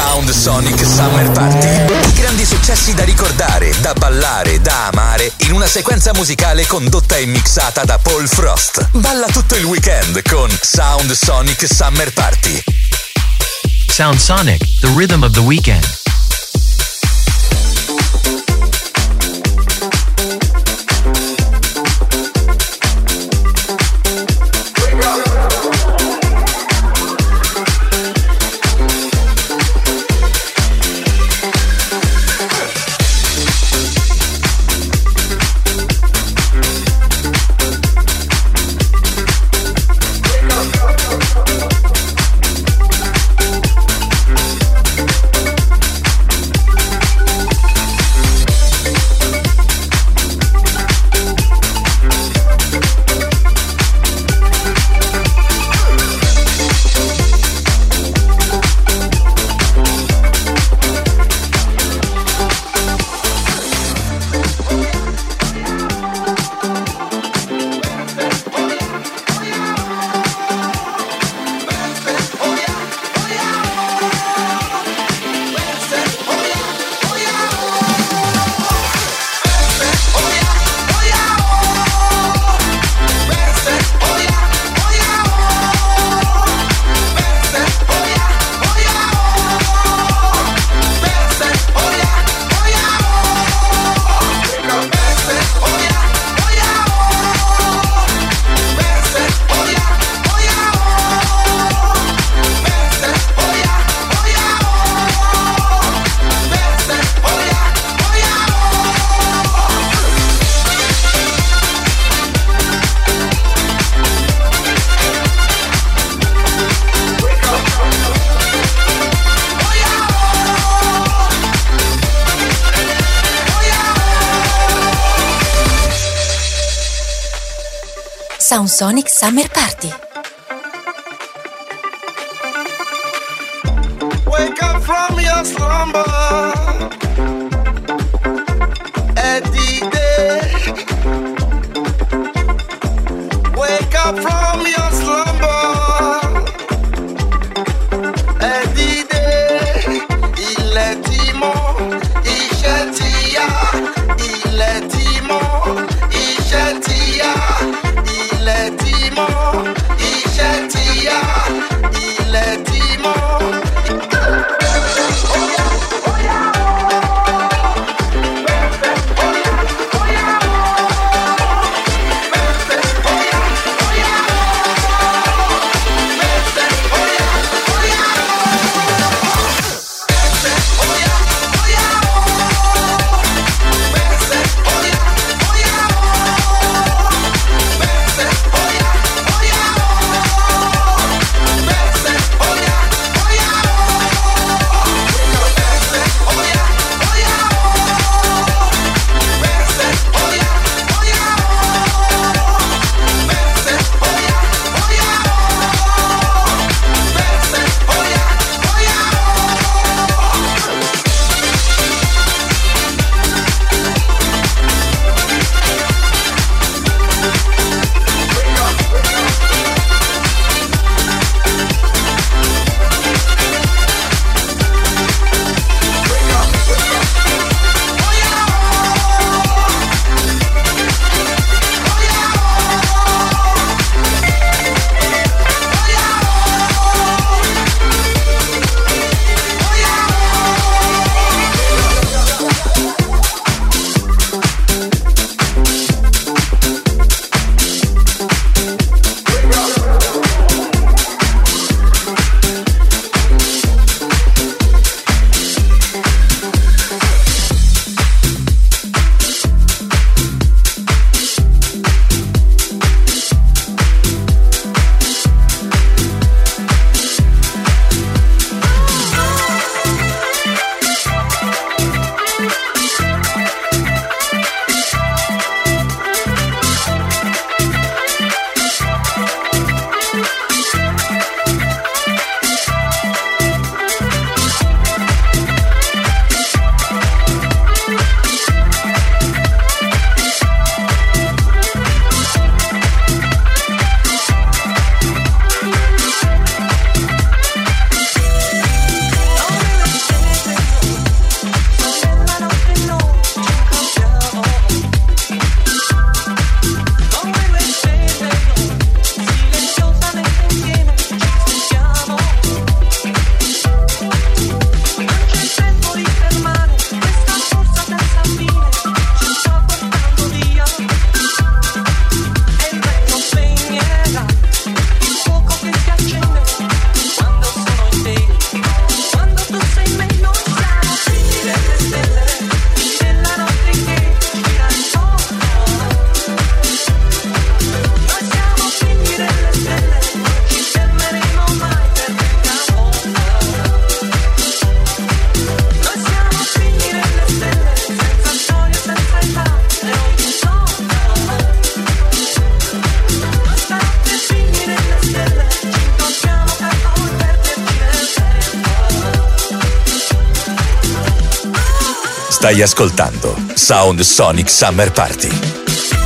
Sound Sonic Summer Party. I grandi successi da ricordare, da ballare, da amare, in una sequenza musicale condotta e mixata da Paul Frost. Balla tutto il weekend con Sound Sonic Summer Party. Sound Sonic, the rhythm of the weekend. Sound Sonic Summer Party. Wake up from your slumber at the day. Wake up from your slumber at the day. Il ti mọ̀, iṣẹ́ ti yá. Il ti mọ̀, iṣẹ́ ti yá. Il ti mọ̀, iṣẹ́ ti yá. Il ti mọ̀. Stai ascoltando Sound Sonic Summer Party.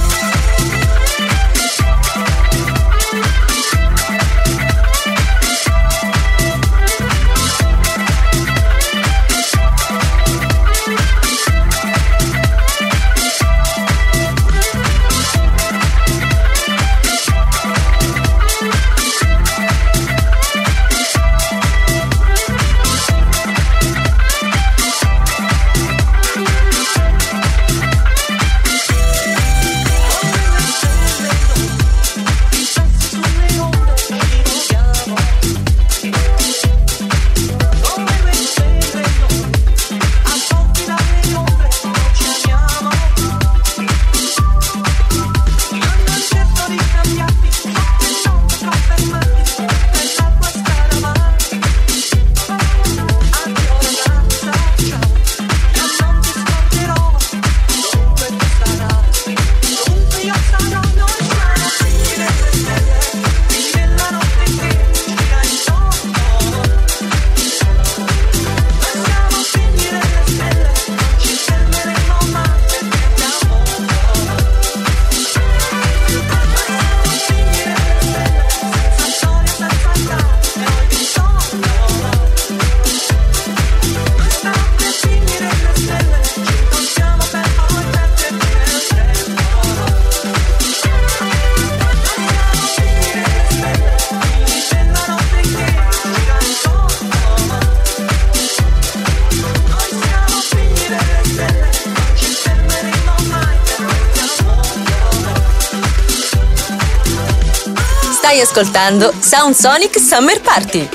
Stai ascoltando Sound Sonic Summer Party.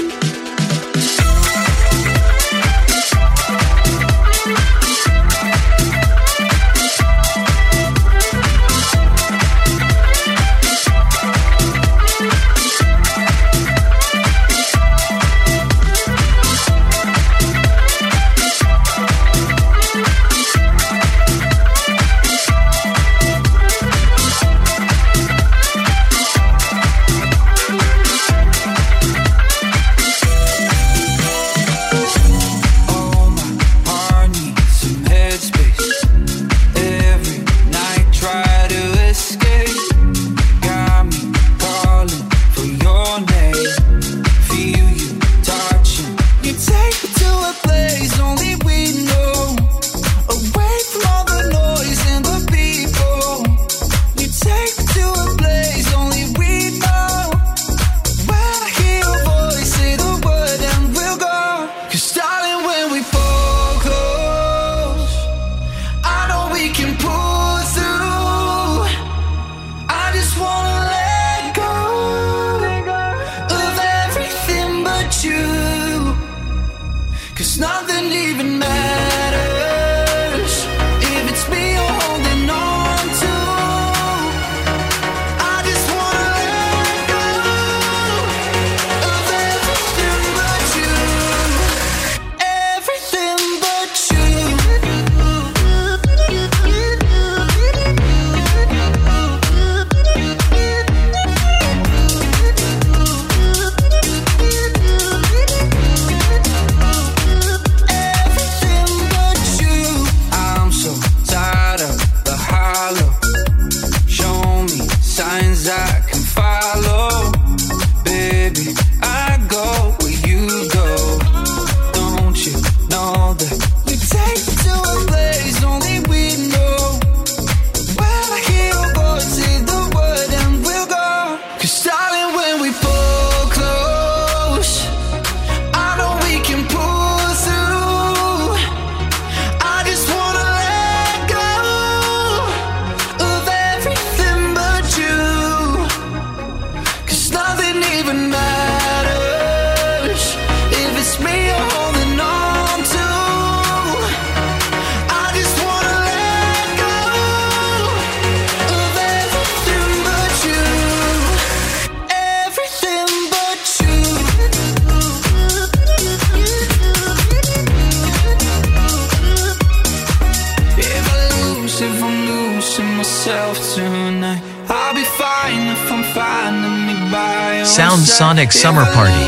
Sound Sonic Summer Party.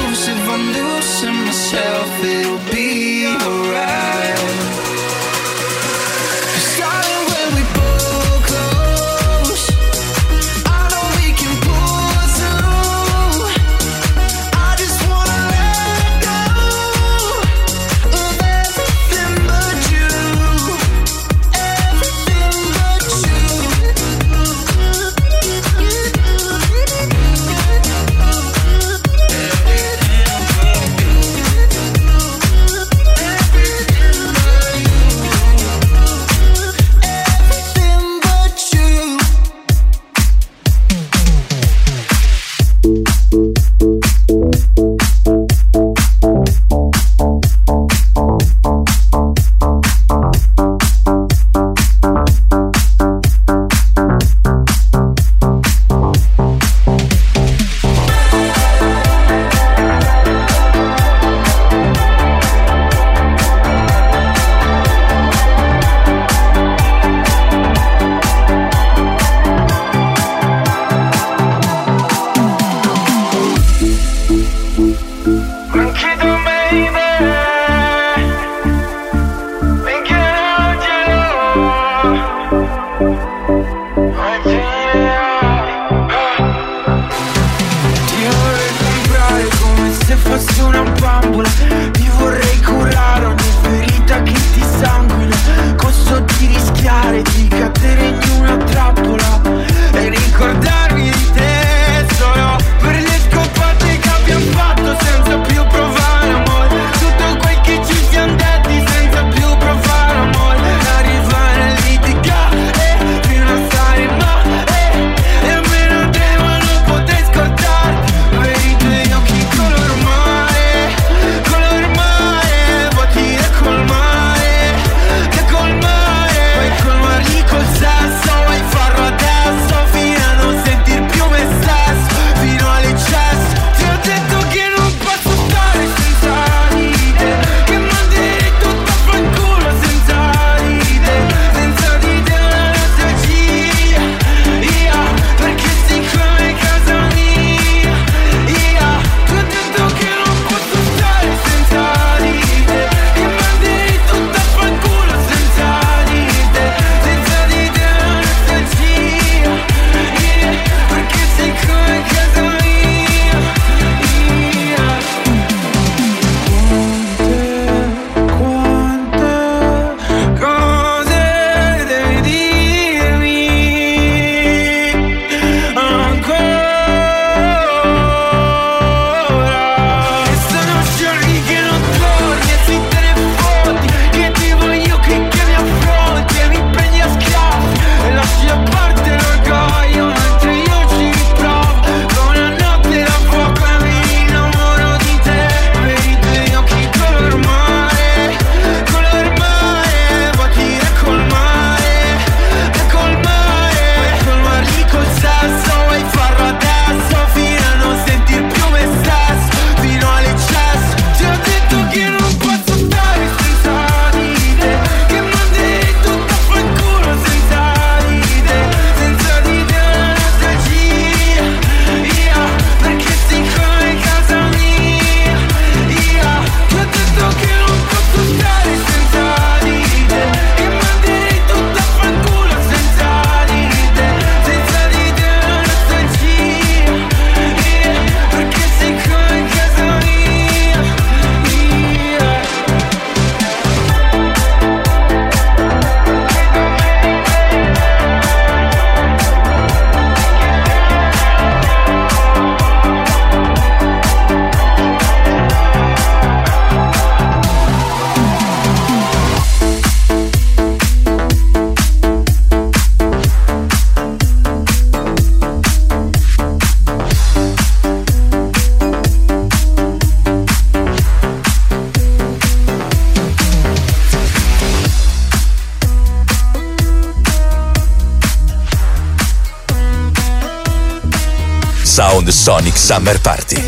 Sound Sonic Summer Party.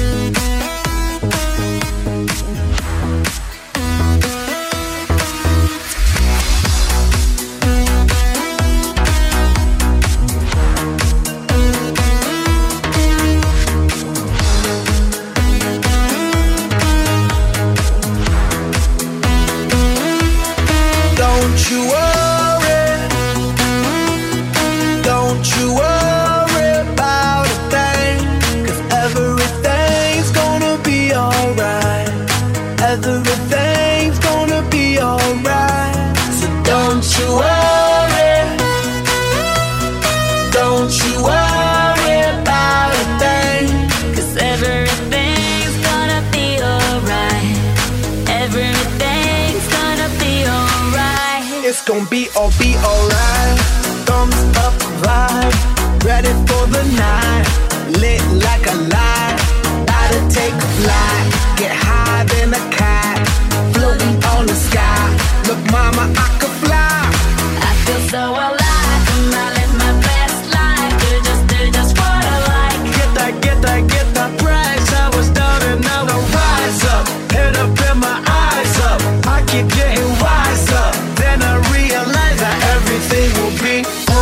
Be alright. Thumbs up vibe, ready for the night. Lit like a light, about to take a flight. Get higher than a cat, floating on the sky. Look, mama, I could fly. I feel so alive, and I live my best life. Do just what I like. Get that price. I was down and now I rise up. Head up and my eyes up. I keep getting wiser. Then I realize that everything will be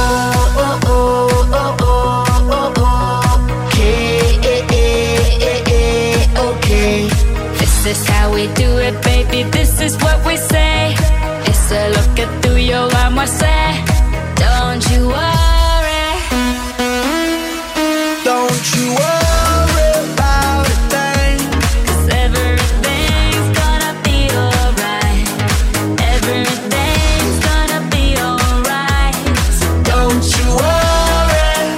okay. This is how we do it, baby. This is what we say. It's a look at through your arm, I say. Don't you worry. Don't you worry about a thing. 'Cause everything's gonna be alright. Everything's gonna be alright. So don't you worry.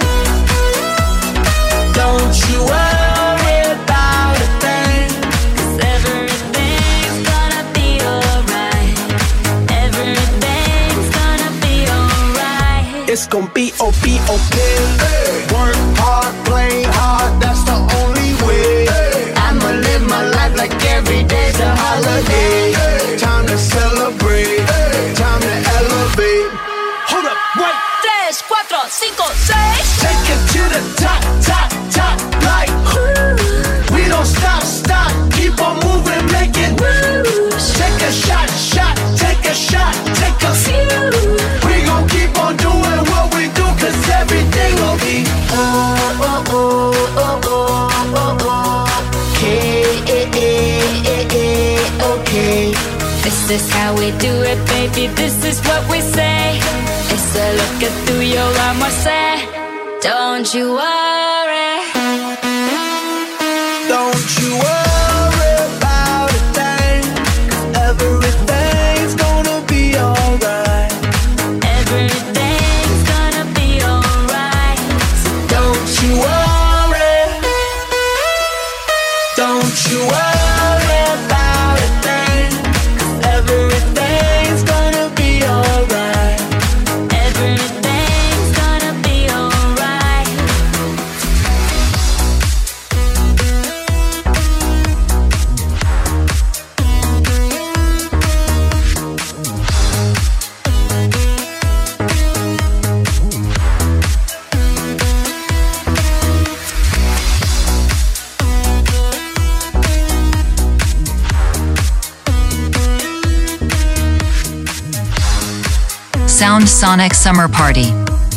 Don't you worry about a thing. 'Cause everything's gonna be alright. Everything's gonna be alright. It's gonna be okay. Work hard, play hard, that's the only way. I'ma live my life like every day's a holiday. Time to celebrate, time to elevate. Hold up, wait. 3, 4, 5, 6. Take it to the top, like we don't stop, keep on moving, make it. Take a shot, take a shot, take a few. We gon' keep on doing what we do, 'cause everything will be okay. This is how we do it, baby. This is what we say. It's a look at through your arm, I say. Don't you worry. Don't you worry about a thing, 'cause everything's gonna be alright. Everything's gonna be alright. So don't you worry. Don't you worry about a thing, 'cause everything's gonna be alright. Everything's gonna be alright. Sound Sonic Summer Party.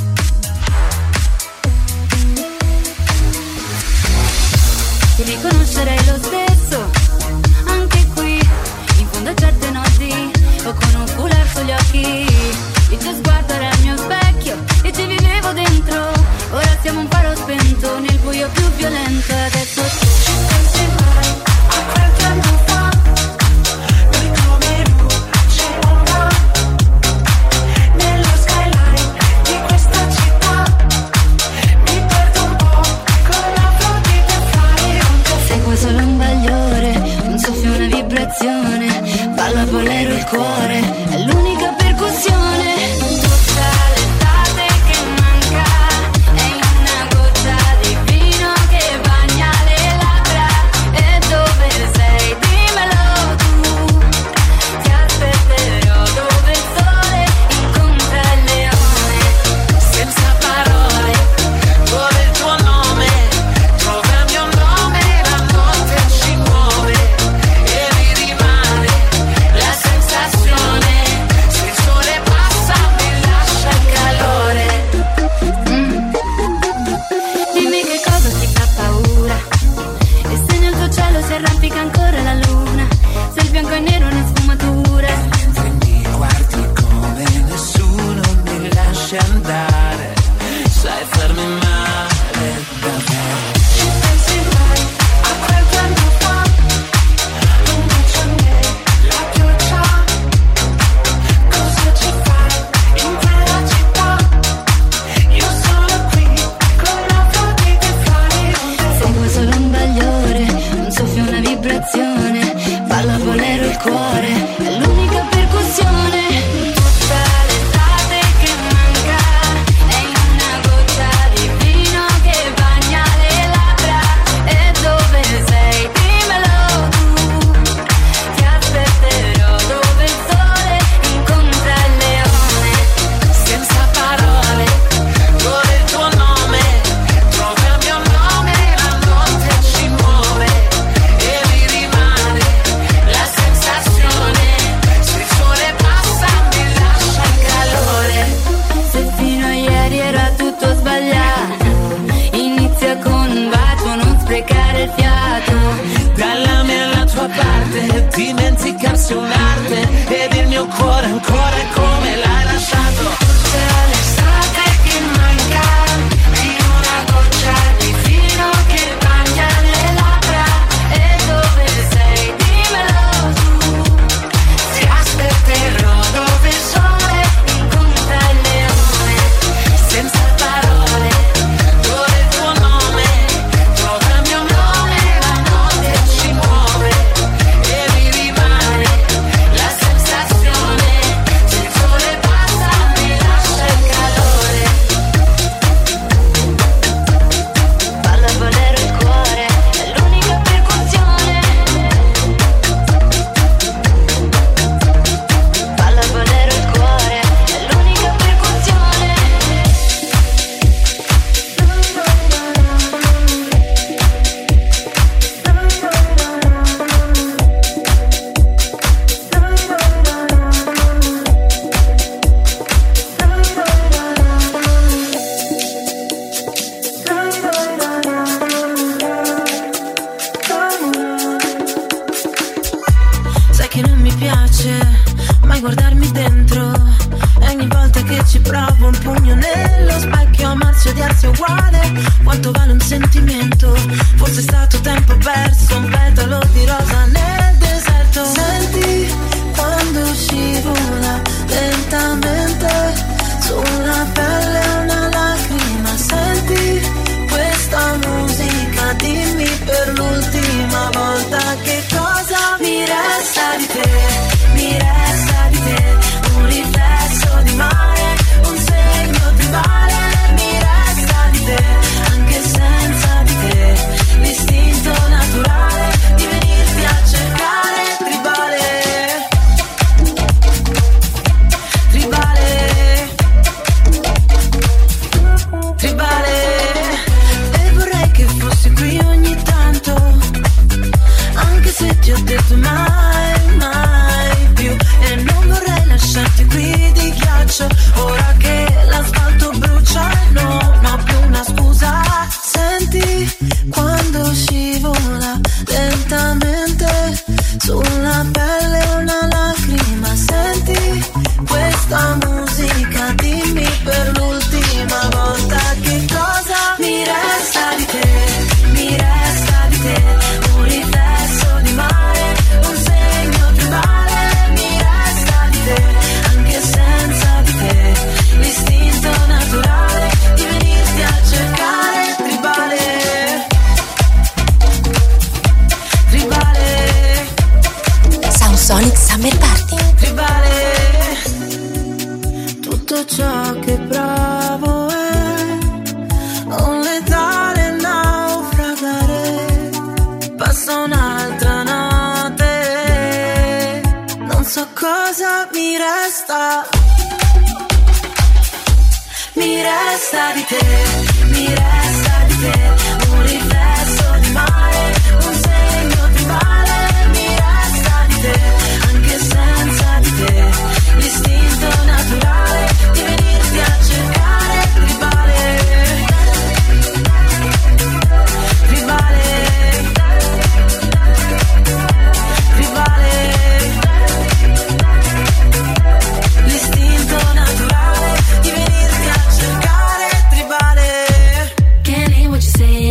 Ti riconoscerei lo stesso, anche qui, in fondo a certe notti, o con un foulard sugli occhi. Il tuo sguardo era il mio specchio e ci vivevo dentro. Ora siamo un faro spento nel buio più violento. Adesso tu ci pensi mai a quel tempo fa? Noi come luci una nello skyline di questa città. Mi perdo un po' con la flor di te fare. Seguo solo un bagliore, un soffio, una vibrazione. Ballo a bolero il cuore, è l'unica percussione. Tutta l'estate che manca è una goccia di vino che bagna le labbra. E dove sei? Dimmelo tu. Ti aspetterò dove il sole incontra il leone. Senza parole, vuole il tuo nome. Troverò fosse un'arte ed il mio cuore ancora è come l'hai lasciato. C'è l'estate che manca di una goccia di vino che bagna le labbra. E dove sei? Dimmelo tu. Ti aspetterò dove il sole incontra il leone. Senza parole, dove il tuo nome trova il mio nome. La notte ci muove e mi rimane la sensazione. Se il sole passa mi lascia il calore. Balla bolero il cuore, è l'unica percussione. Balla bolero il cuore, è l'unica percussione. Sai che non mi piace mai guardarmi dentro. E ogni volta che ci provo un pugno nello specchio. Amarsi e odiarsi è uguale. Quanto vale un sentimento? Forse è stato tempo perso. Un petalo di rosa nel deserto. Senti quando scivola lentamente sulla pelle una lacrima. Senti questa musica, dimmi per l'ultima volta che cosa mi resta di te. Mi resta di te un riflesso di mare, un segno tribale. Mi resta di te anche senza di te l'istinto naturale di venirti a cercare. Tribale, tribale, tribale. E vorrei che fossi qui ogni tanto, anche se ti ho detto mai, mai più. E non vorrei lasciarti qui di ghiaccio, ora che l'asfalto brucia e non ho più una scusa. Senti quando scivola lentamente sulla pelle una lacrima. Senti questa musica, dimmi per l'ultima volta che cosa mi resta di te. Mi resta di te un riflesso di mare, un segno tribale. Mi resta di te anche senza di te l'istinto naturale di venirti a cercare. Tribale, tribale, Sound Sonic Summer Party. tribale. Tutto ciò che provo è un letale naufragare. Passa un'altra notte, non so cosa mi resta. Mi resta di te, mi resta di te un riflesso di mare, un segno tribale. Mi resta di te anche senza di te l'istinto naturale di venirti a cercare. Tribale, tribale, tribale, l'istinto naturale di venirti a cercare. Tribale. Can't hear what you're saying.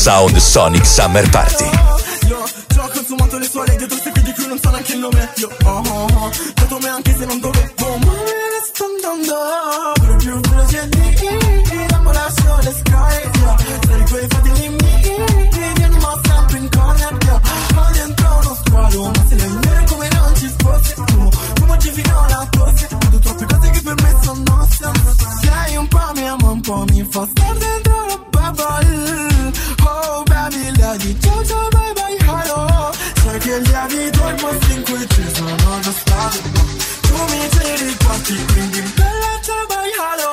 Sound Sonic Summer Party. Io ci ho consumato le suole dietro se di cui non so neanche il nome. Io dato me anche se non dovevo, ma me ne sto andando. Per più veloce l'ambulazione le sky. Sei quei fratelli miei, vieni ma sempre in corner. Ma dentro uno squalo, ma se le nere come non ci fosse. Tu mangi fino alla tosse. Vedo troppe cose che per me sono nostre. Sei un po' mia, ma un po' mi fa star dentro la bubble. Oh baby, lady, ciao ciao, bye bye, hello. Sai che gli abito il posto in cui ci sono già stato. Tu mi tiri quanti, quindi bella, ciao bye, hello.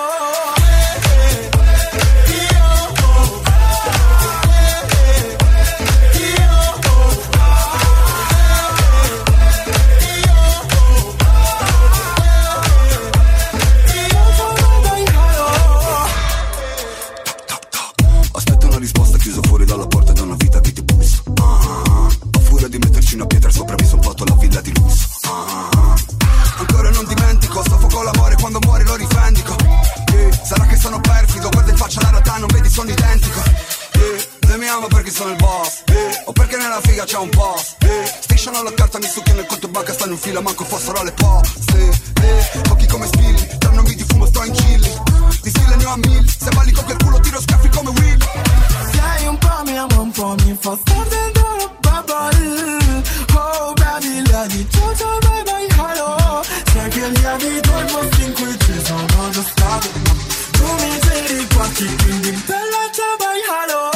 Aspetta una risposta chiuso fuori dalla porta da una vita che ti bussa. A furia di metterci una pietra sopra mi son fatto la villa di lusso. Ancora non dimentico, soffocò l'amore quando muore lo rivendico. Sarà che sono perfido, guarda in faccia la realtà, non vedi sono identico. Lei mi ama perché sono il boss, o perché nella figa c'è un post. Strisciano la carta, mi succhiano il conto banca, stanno in fila, manco fossero le poste. Occhi come spilli, tra nomi di fumo sto in chilli. Di stile ne ho a 1000, se balli con quel culo tiro scaffi come Will. Sei un po' mia, ma un po' mi fa star dentro la bubble. Oh baby, lady, ciao ciao, bye bye, hello. Sai che gli abito il posto in cui ci sono già stato. Tu mi tiri quanti, quindi bella, ciao bye, hello.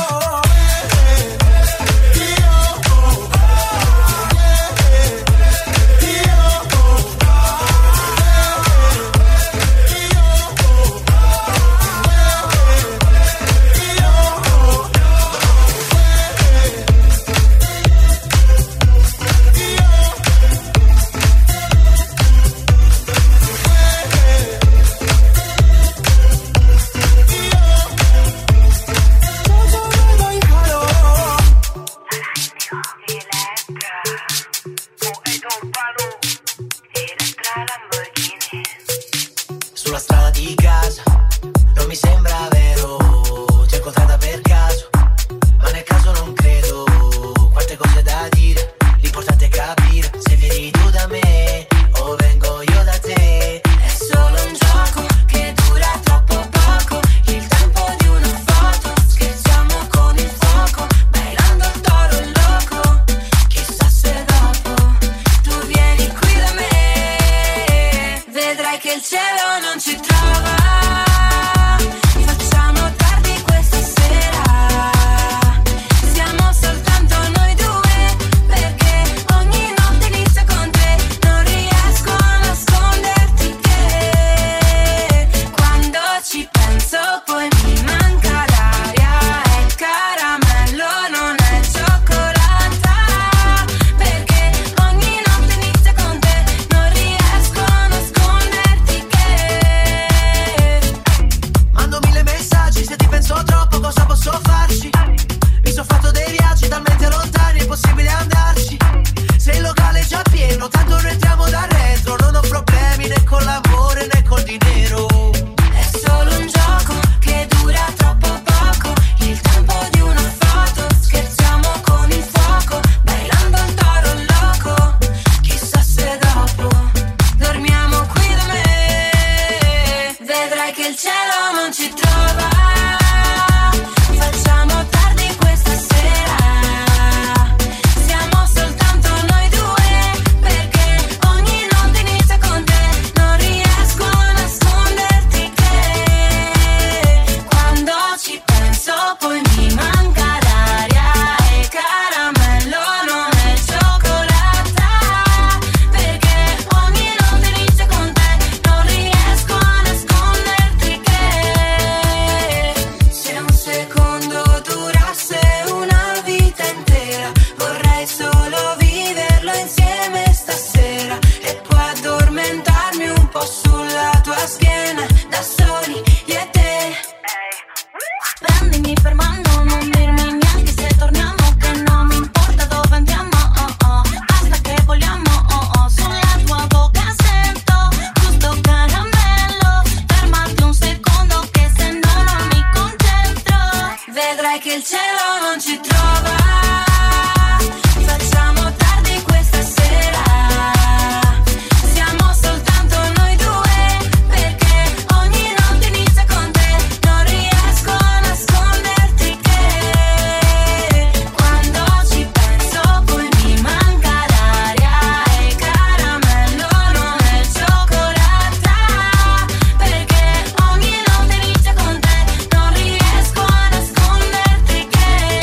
vedrai che il cielo non ci trova. Facciamo tardi questa sera, siamo soltanto noi due, perché ogni notte inizia con te. Non riesco a nasconderti che quando ci penso poi mi manca l'aria e il caramello non è cioccolata, perché ogni notte inizia con te. Non riesco a nasconderti che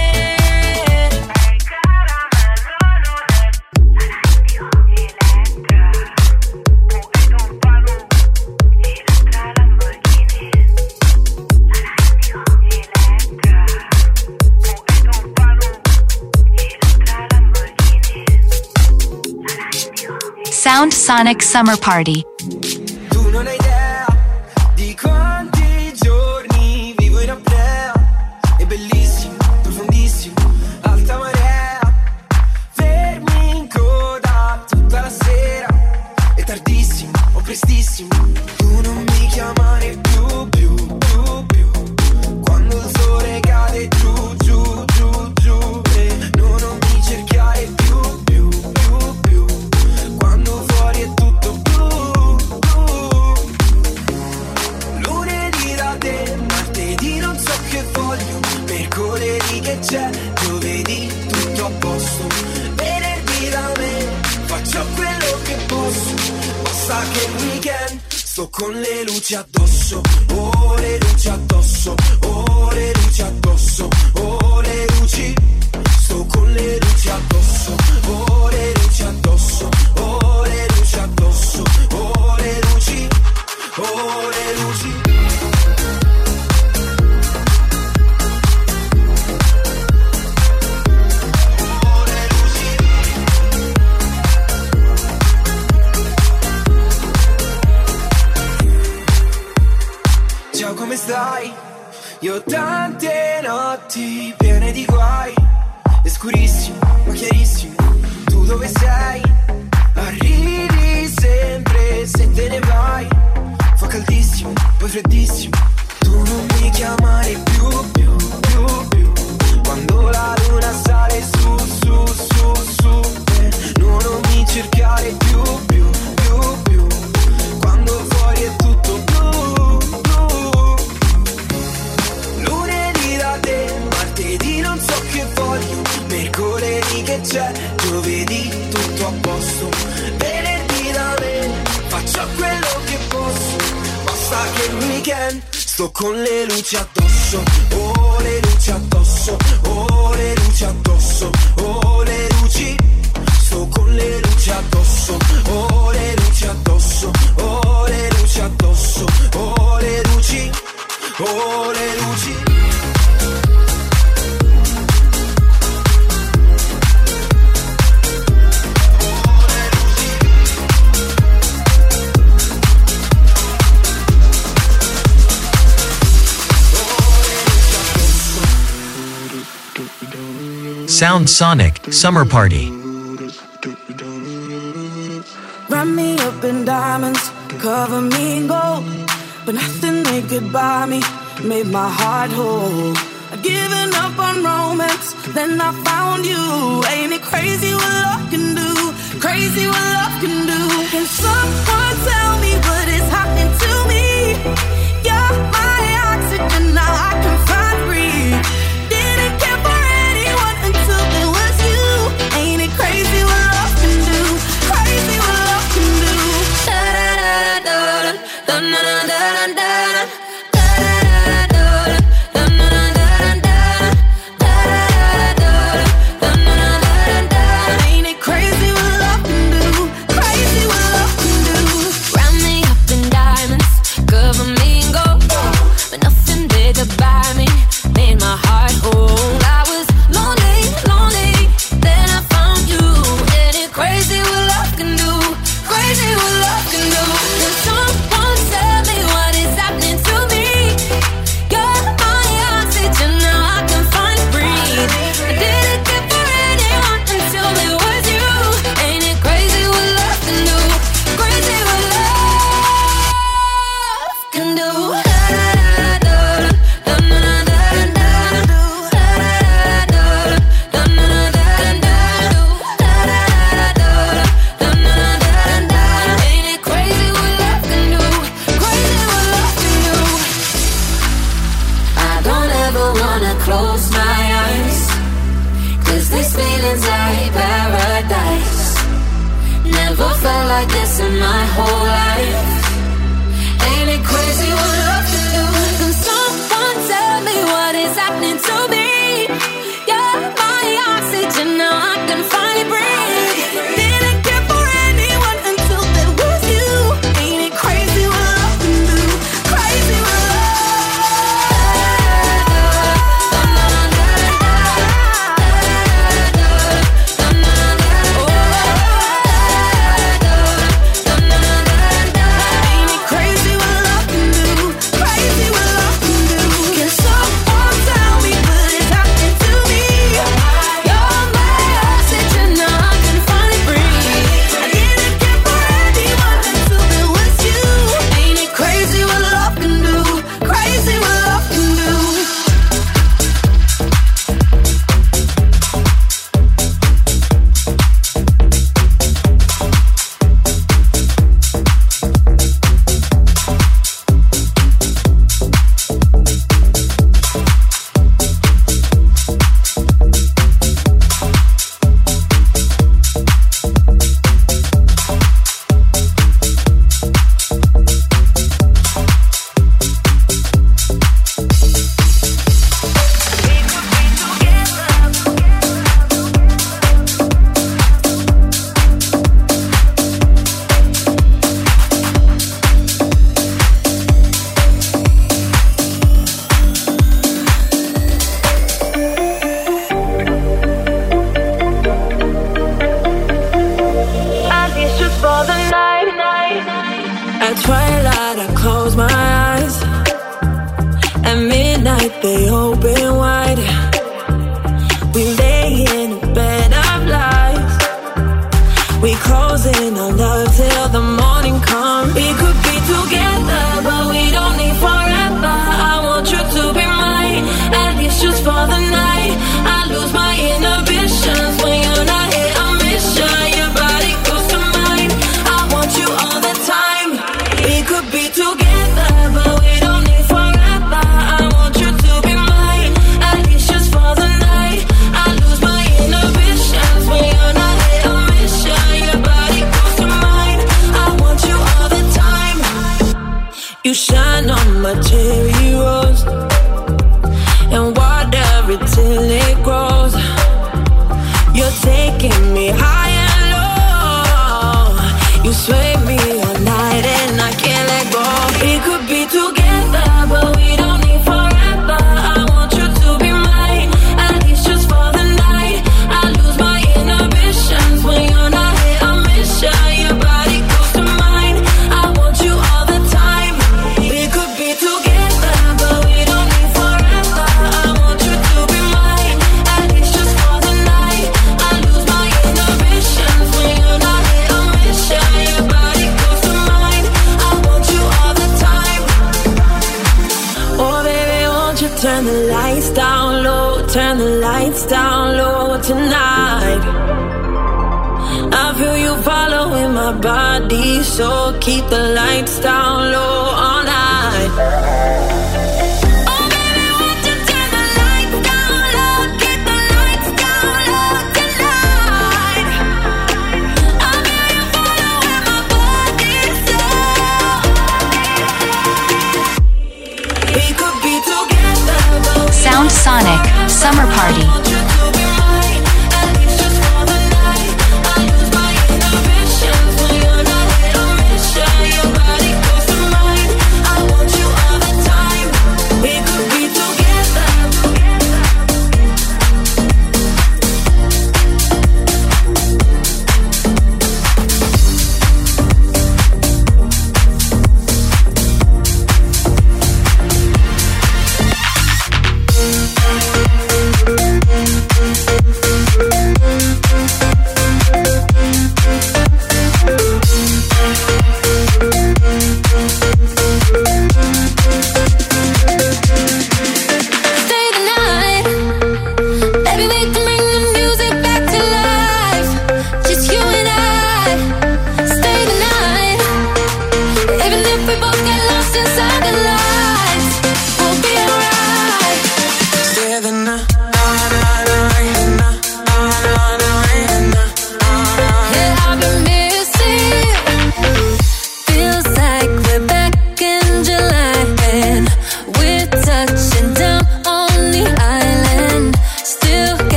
Sound Sonic Summer Party. Tu non hai idea di quanti giorni vivo in apnea. È bellissimo, profondissimo, alta marea. Fermi in coda tutta la sera. È tardissimo o prestissimo. Tu non mi chiamare più. Quando il sole cade giù, giù, giù, giù. E non mi cercare più. Quando fuori è tutto blu. Lunedì da te, martedì non so che voglio, mercoledì che c'è, giovedì tutto a posto, venerdì da me, faccio quello che posso, basta che il weekend sto con le luci addosso, oh le luci addosso, oh le luci addosso, oh le luci, sto con le luci addosso, oh le luci addosso, oh le luci addosso, oh le luci, oh le luci. Ciao, come stai? Io ho tante notti piene di guai. È scurissimo, ma chiarissimo. Tu dove sei? Arrivi sempre se te ne vai. Fa caldissimo, poi freddissimo. Tu non mi chiamare più. Quando la luna sale su, su, su, su. Non mi cercare più. Quando fuori è tutto blu. Lunedì da te, martedì non so che voglio, mercoledì che c'è, giovedì tutto a posto, venerdì da me, faccio quello che posso, basta che il weekend sto con le luci addosso, oh le luci addosso, oh le luci addosso, oh le luci, sto con le luci addosso, oh le luci addosso, oh le luci addosso, oh le luci, oh le luci. Sound Sonic Summer Party. Wrap me up in diamonds, cover me in gold, but nothing they could buy me made my heart whole. I'd given up on romance, then I found you. Ain't it crazy what love can do? Crazy what love can do. Can someone tell me what is happening to me? You're my oxygen, now I can find breathe. Didn't care for anyone until it was you. Ain't it crazy what love can do? Crazy what love can do. Da da da da da da da da da. Ain't it crazy what love can do? Crazy what love can do. Round me up close my eyes, 'cause this feeling's like paradise. Never felt like this in my whole life. Ain't it crazy what love can do? Can someone tell me what is happening to me? You're my oxygen, now I can finally breathe. Didn't care for anyone until there was you. Ain't it crazy what love can do? Crazy what Sound Sonic Summer Party.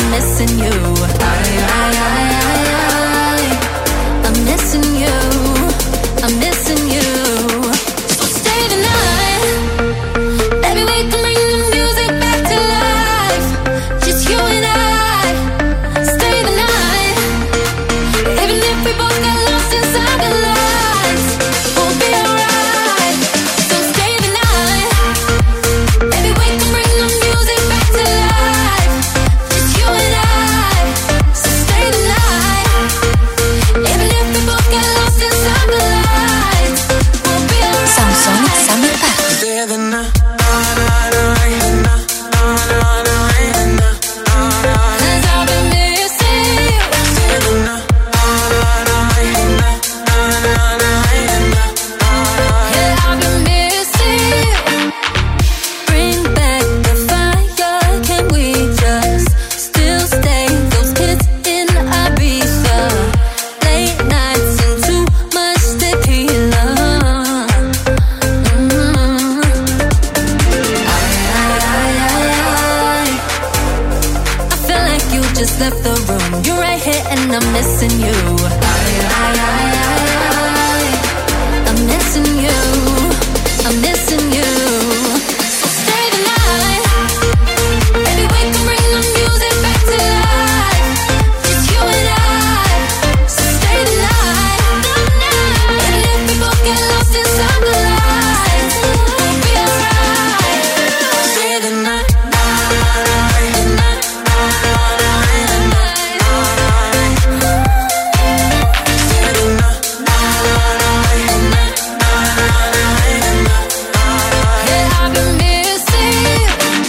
I'm missing you. I'm missing you. I'm missing you. So stay the night. Baby, we can bring the music back to life. Just you and I. Stay the night. Even if we both get lost inside the lights, we'll be alright. So stay the night. Baby, we can bring the music back to life. Just you and I. So stay the night. Even if we both get lost inside the lights, we'll be alright. Sound Sonic Summer Party. Stay the night. Cause I've been missing you. Stay the night. Yeah, I've been missing you. Bring back the fire. Can we just still stay? Those kids in Ibiza. Late nights and too much tequila. I feel like you just left the room. You're right here and I'm missing you. I'm missing you. I'm missing you. So stay the night. Baby, we can bring the music back to life. Just you and I. So stay the night. Even if we both get lost inside the lights, we'll be alright. Stay the night. Yeah, I've been missing you.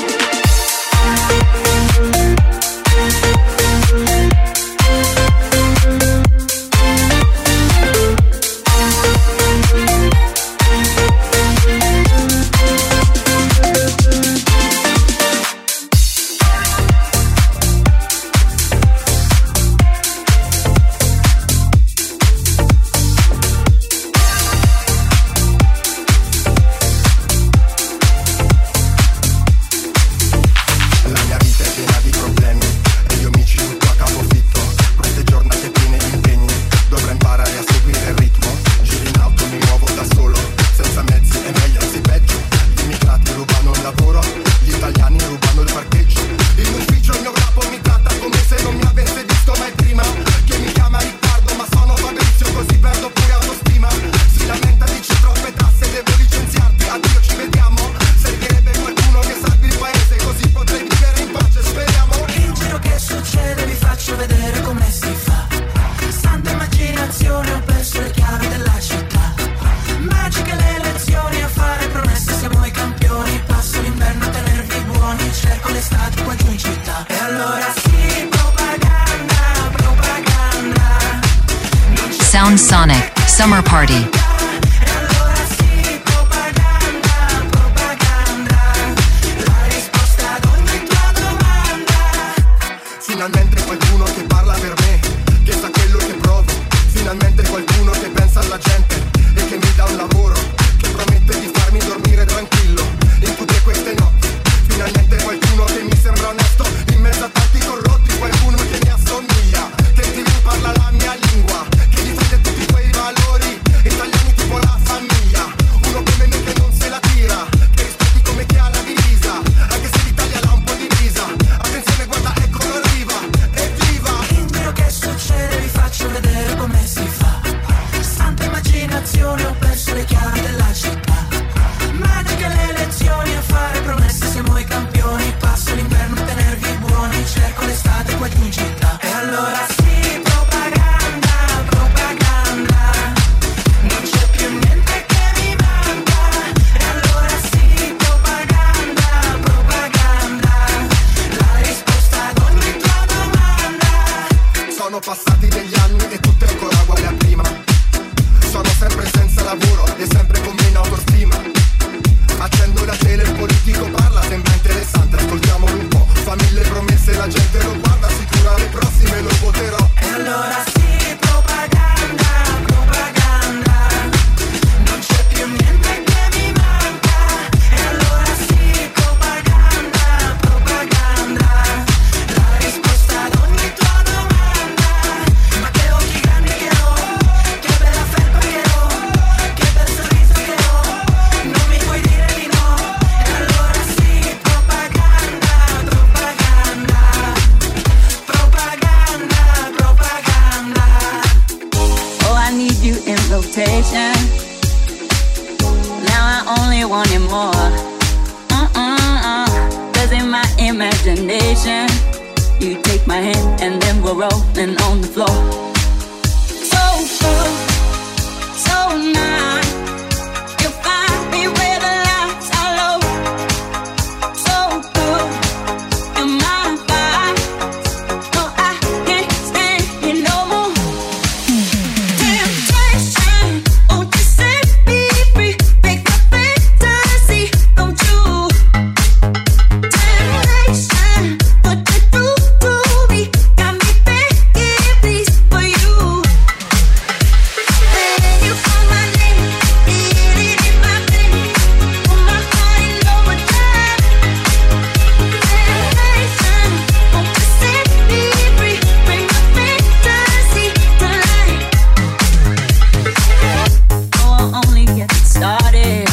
La mia vita è piena di problemi e io mi ci butto a capofitto. Queste giornate piene di impegni, dovrei imparare a seguire il ritmo. Giro in auto, mi muovo da solo, senza mezzi è meglio, anzi peggio. Gli immigrati rubano il lavoro, gli italiani rubano il parcheggio. In ufficio il mio capo mi tratta come se non mi avesse visto mai prima. Che mi chiama Riccardo ma sono Fabrizio, così perdo pure autostima. Si lamenta, dice troppe tasse, devo licenziarti, addio ci vediamo. Servirebbe qualcuno che salvi il paese, così potrei vivere in pace, speriamo. In giro che succede vi faccio vedere come si fa. Santa immaginazione, ho perso le chiavi della città. Magiche le lezioni, a fare promesse siamo i campioni. Passo l'inverno a tenervi buoni, cerco l'estate qua giù in città. E allora sì, propaganda, propaganda. Sound Sonic Summer Party. E allora sì, propaganda, propaganda. La risposta ad ogni tua domanda. Finalmente qualcuno che parla per me, che sa quello che provo. Finalmente qualcuno che pensa alla gente e che mi dà un lavoro, che promette di farmi dormire tranquillo in tutte queste notti. Finalmente qualcuno che mi sembra onesto in mezzo a tanti corrotti. Qualcuno che mi assomiglia, che in TV parla la mia lingua, che difende tutti quei valori italiani tipo la famiglia. Uno come me che non se la tira, che rispetti come chi ha la divisa, anche se l'Italia l'ha un po' divisa. Attenzione, guarda, eccolo arriva, evviva. In giro che succede vi faccio vedere come si fa. Santa immaginazione, ho perso le chiavi della città. Magiche le lezioni, a fare promesse siamo i campioni. Passo l'inverno a tenervi buoni, cerco l'estate qua giù in città. E allora sì, propaganda, propaganda. Non c'è più niente che mi manca. E allora sì, propaganda, propaganda. La risposta ad ogni tua domanda. Sono passati degli anni e tutto è ancora uguale a prima. Sono sempre senza lavoro e sempre con meno autostima. Accendo la tele, il politico parla, sembra interessante, ascoltiamolo un po'. Fa mille promesse, la gente lo guarda, sicura le prossime lo voterò. E allora sì, propaganda, propaganda. Non c'è più niente che mi manca. E allora sì, propaganda, propaganda. La risposta You take my hand and then we're rolling on the floor. So good, so nice. You find me where the lights are low. So good, you're my vibe. No, I can't stand you no more. Temptation, won't you set me free? Make my fantasy come true. Temptation, what you do to me got me begging please for you. When you call my name, it in my veins. Put my heart in overdrive. Temptation, won't you set me free? Bring my fantasy to life. Oh, I'll only get started.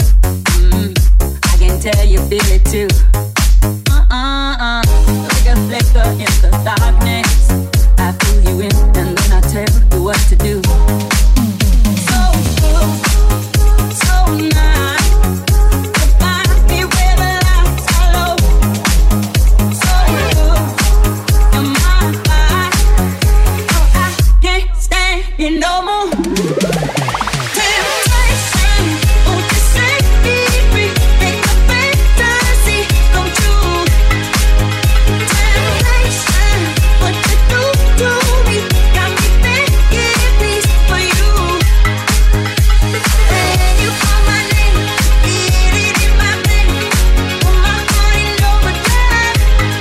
I can tell you feel it too. Like a flicker in the darkness. I pull you in and then I tell you what to do. So good, so nice. You find me where the lights are low. So good, you're my vibe. No, I can't stand you no more. Temptation, won't you set me free? Make my fantasy come true. Temptation, what you do to me got me begging please for you. When you call my name, it in my veins. Put my heart in overdrive.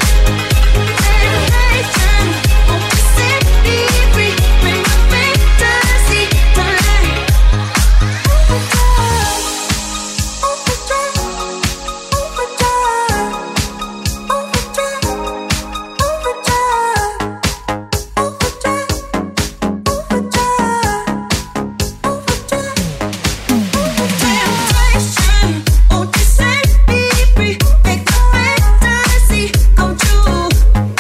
Temptation, won't you set me free? Bring my fantasy to life. Temptation, won't you set me free? Make my fantasy come true.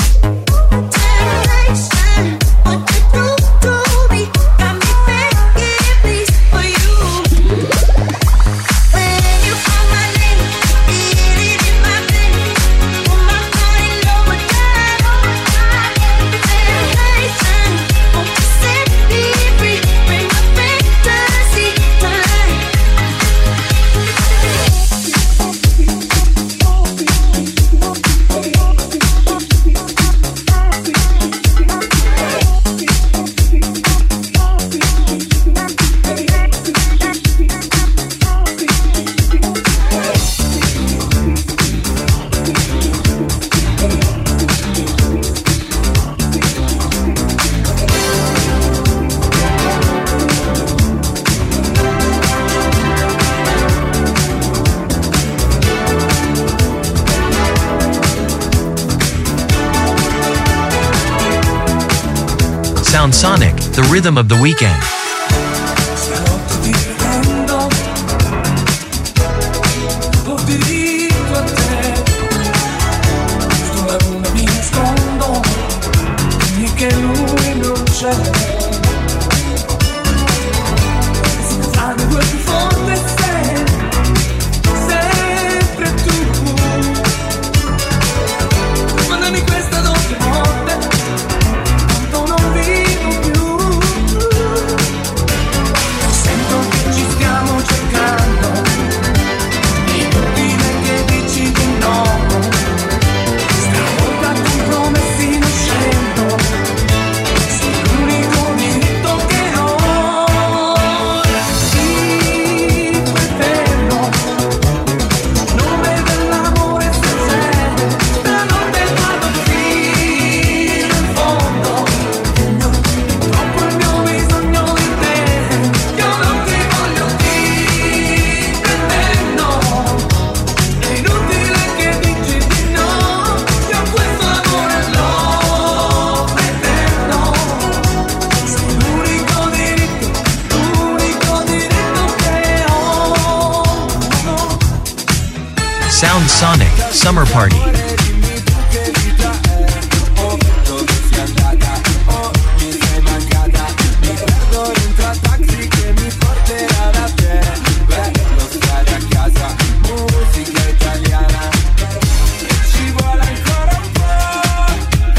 Temptation, what you do to me got me begging please for you. When you call my name, it in my veins. Put my heart in overdrive. Temptation, won't you set me free? Bring my fantasy to life. Sound Sonic, the rhythm of the weekend. Stanotte ti pretendo, ho diritto a te. Sotto la luna mi nascondo, dimmi che lui non c'è. Se fare due più forte sei, sempre tu. Mandami questa doppia notte, tanto non vivo più. Sento che ci stiamo cercando, inutile che dici di no. Stavolta con promessi non scendo, sei l'unico diritto che ho. Sì, pretendo, nome dell'amore sincero, stanotte vado fino in fondo. Troppo il mio bisogno di te, io non ti voglio ti pretendo. È inutile che dici di no, io questo amore lo pretendo. Sei l'unico diritto che ho. Sound Sonic, Summer Party. Dimmi tu che vita è, dove sei andata, mi sei mancata. Mi perdo dentro a taxi che mi porterà da te. Bello stare a casa, musica italiana. E ci vuole ancora un po'.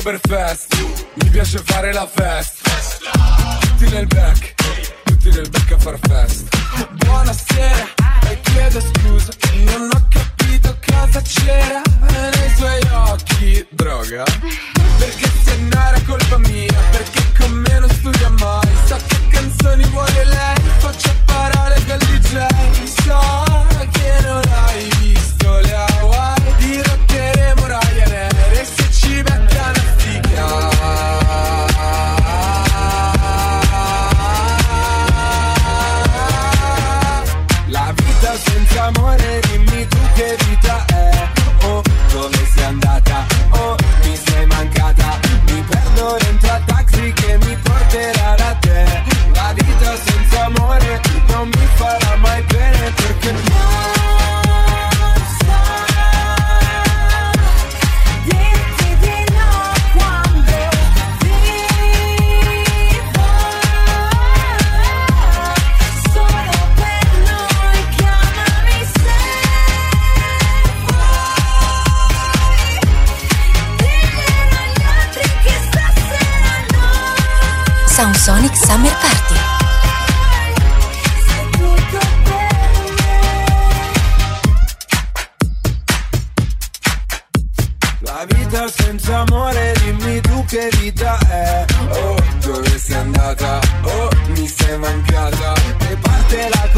Oktoberfest, mi piace fare la festa. Tutti nel back a far festa. Buonasera, e chiedo scusa, non ho capito cosa c'era nei suoi occhi. Droga? Perché se non era colpa mia, perché con me non studia mai. So che canzoni vuole lei, faccio parole del DJ. So che non hai visto le Hawaii, dirotteremo Ryanair e se ci becca una figa. La vita senza amore, dimmi tu che vita è. Oh, dove sei andata? Oh, mi sei mancata. Mi perdo dentro a taxi che mi porterà da te. La vita senza amore non mi farà mai bene perché non so dirti di no quando vivo solo per noi. Chiamami se vuoi, dimmelo agli altri che stasera no. Sound Sonic Summer Party. La vita senza amore, dimmi tu che vita è. Oh, dove sei andata? Oh, mi sei mancata. E parte la